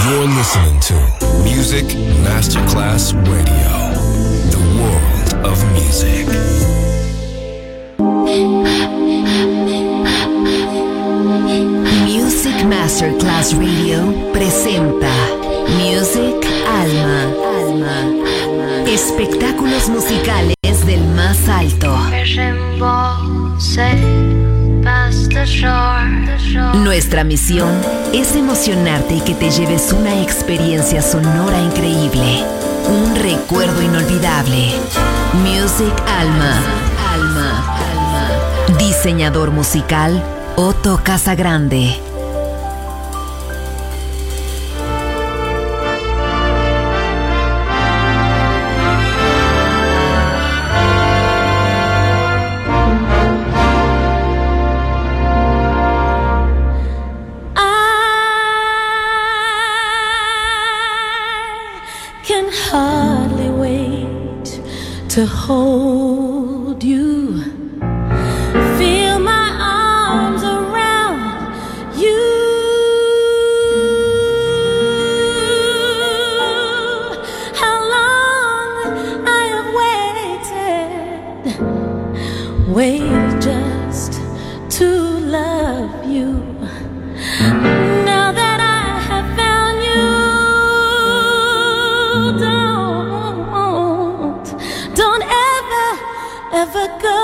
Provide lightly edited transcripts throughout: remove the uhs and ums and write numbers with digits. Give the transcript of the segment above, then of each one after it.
You're listening to Music Masterclass Radio, the world of music. Music Masterclass Radio presenta Music Alma. Espectáculos musicales del más alto. Nuestra misión es emocionarte y que te lleves una experiencia sonora increíble, un recuerdo inolvidable. Music Alma. Diseñador musical Otto Casagrande. Hardly wait to hold you, feel my arms around you. How long I have waited just to love you. Now that I have found you, don't ever go.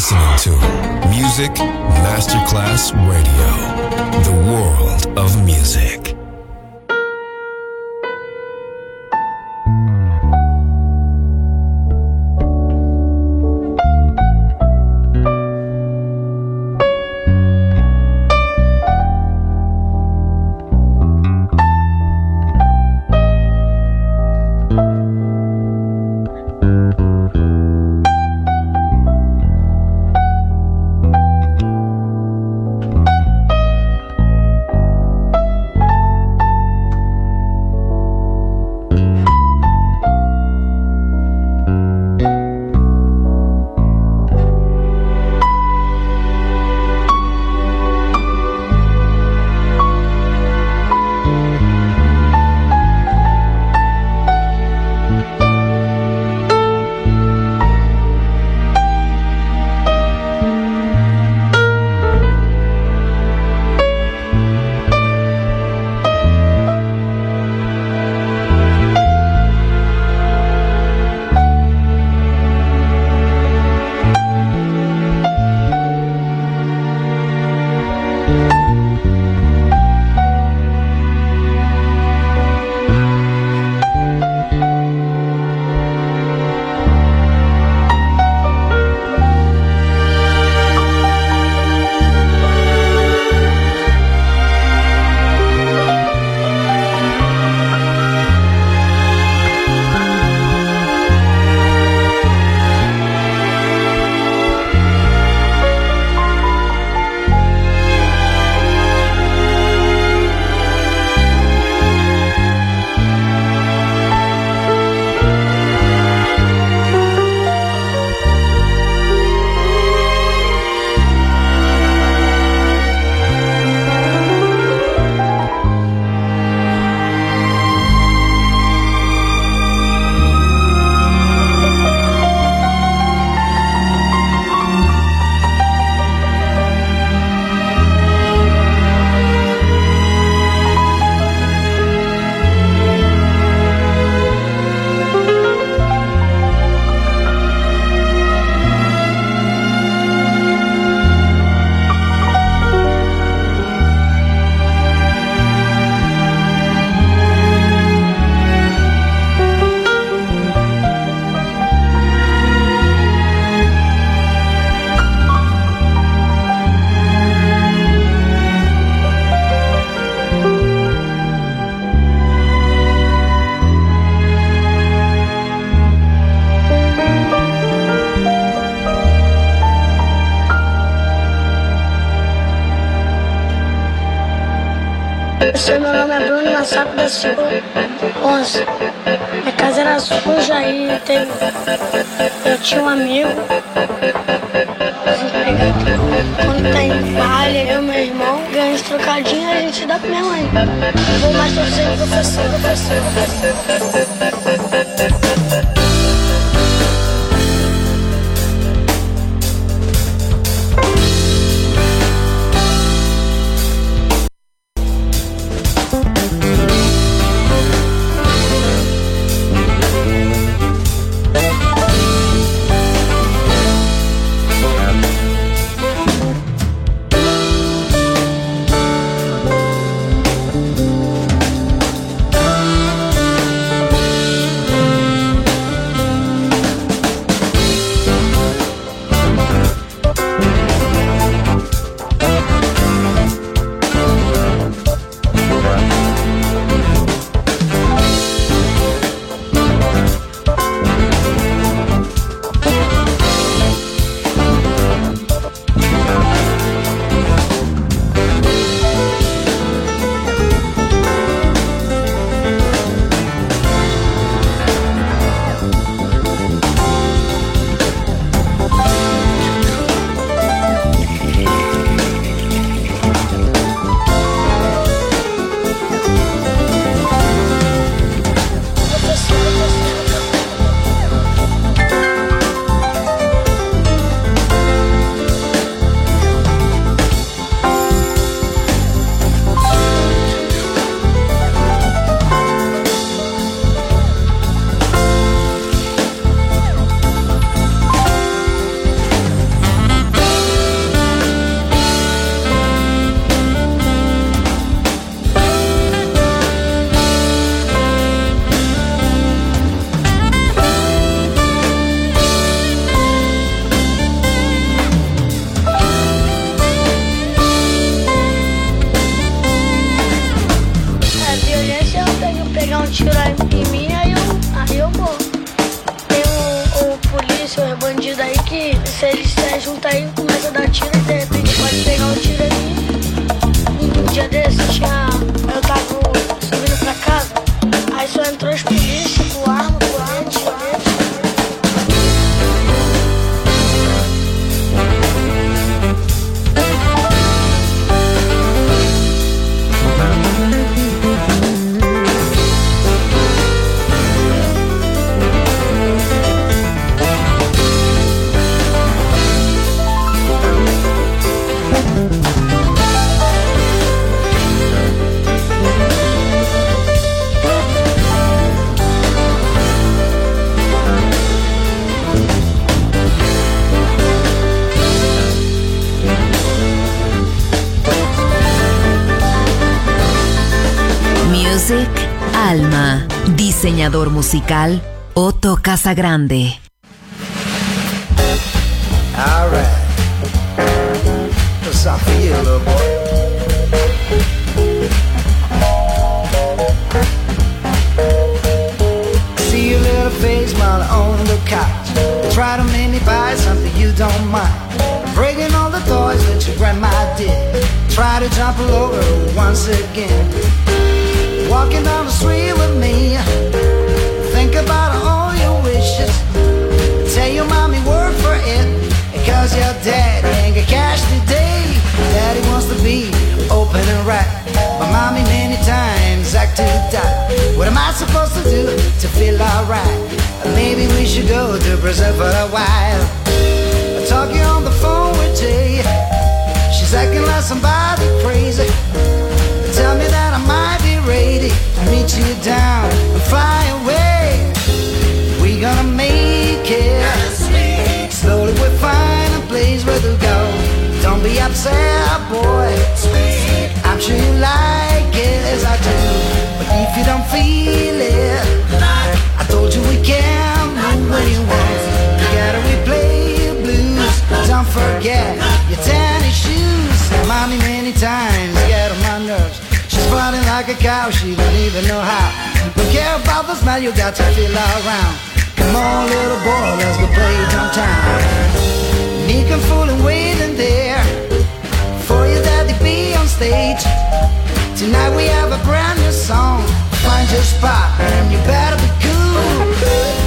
listening to Music Masterclass Radio, the world of music. Meu nome é Bruno Massaco da Silva 11. Minha casa era suja e eu tinha um amigo desempregado. Quando tá em falha, eu e meu irmão ganhamos trocadinho e a gente dá pra minha mãe. Vou mais torcer pro professor. volta aí, começa a dar tiro e de repente pode pegar o tiro ali. Um dia desse eu tava subindo pra casa, aí só entrou os polícias com arma, colete. Music Alma, diseñador musical Otto Casagrande. All right, what's up for you, little boy? See your little face while on the couch. Try to make me buy something you don't mind. Breaking all the toys that your grandma did. Try to jump all over once again. Walking down the street with me. Think about all your wishes. Tell your mommy work for it, because your daddy ain't got cash today. Daddy wants to be open and right, but mommy many times act to die. What am I supposed to do to feel alright? Maybe we should go to Brazil for a while. Talking on the phone with Jay. She's acting like somebody crazy. Tell me that I might be ready to meet you down and fly away. We gonna make it. Slowly we'll find a place where to go. Don't be upset, boy. I'm sure you like it as I do. But if you don't feel it, I told you we can move when you want. You gotta replay the blues. Don't forget your tennis shoes. Mommy many times get on my nerves. She's fighting like a cow, she don't even know how. Don't care about the smell, you got to feel around. Come on, little boy, let's go play downtown. Meek and fool and waiting there for your daddy be on stage. Tonight we have a brand new song. Find your spot and you better be cool.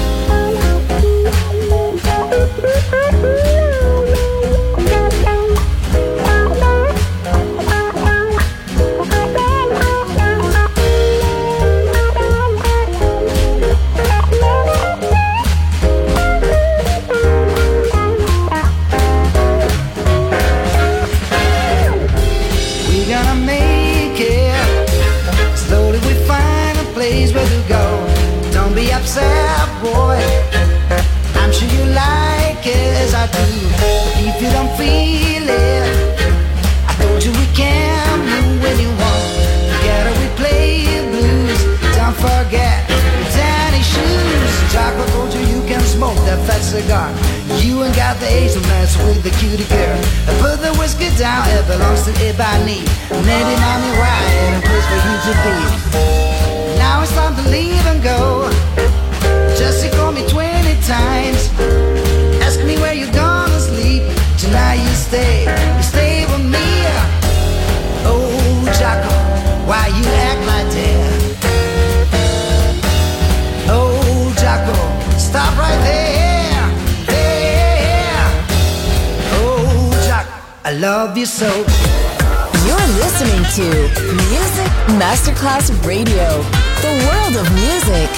Upset, boy, I'm sure you like it as I do. But if you don't feel it, I told you we can move when you want. You gotta replay the blues. Don't forget your tiny shoes. Chocolate told you can smoke that fat cigar. You ain't got the age to mess with the cutie girl. Put the whiskey down, it belongs to Ebony. Lady mommy right, a place for you to be. Now it's time to leave and go. Jesse called me 20 times. Ask me where you're gonna sleep. Tonight you stay with me. Oh, Jocko, why you act like that? Oh, Jocko, stop right there. Oh, Jocko, I love you so. You're listening to Music Masterclass Radio, the world of music.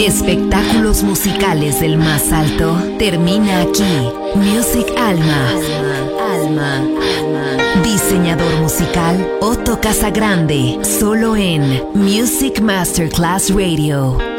Espectáculos musicales del más alto termina aquí. Music Alma. Diseñador musical Otto Casagrande, solo en Music Masterclass Radio.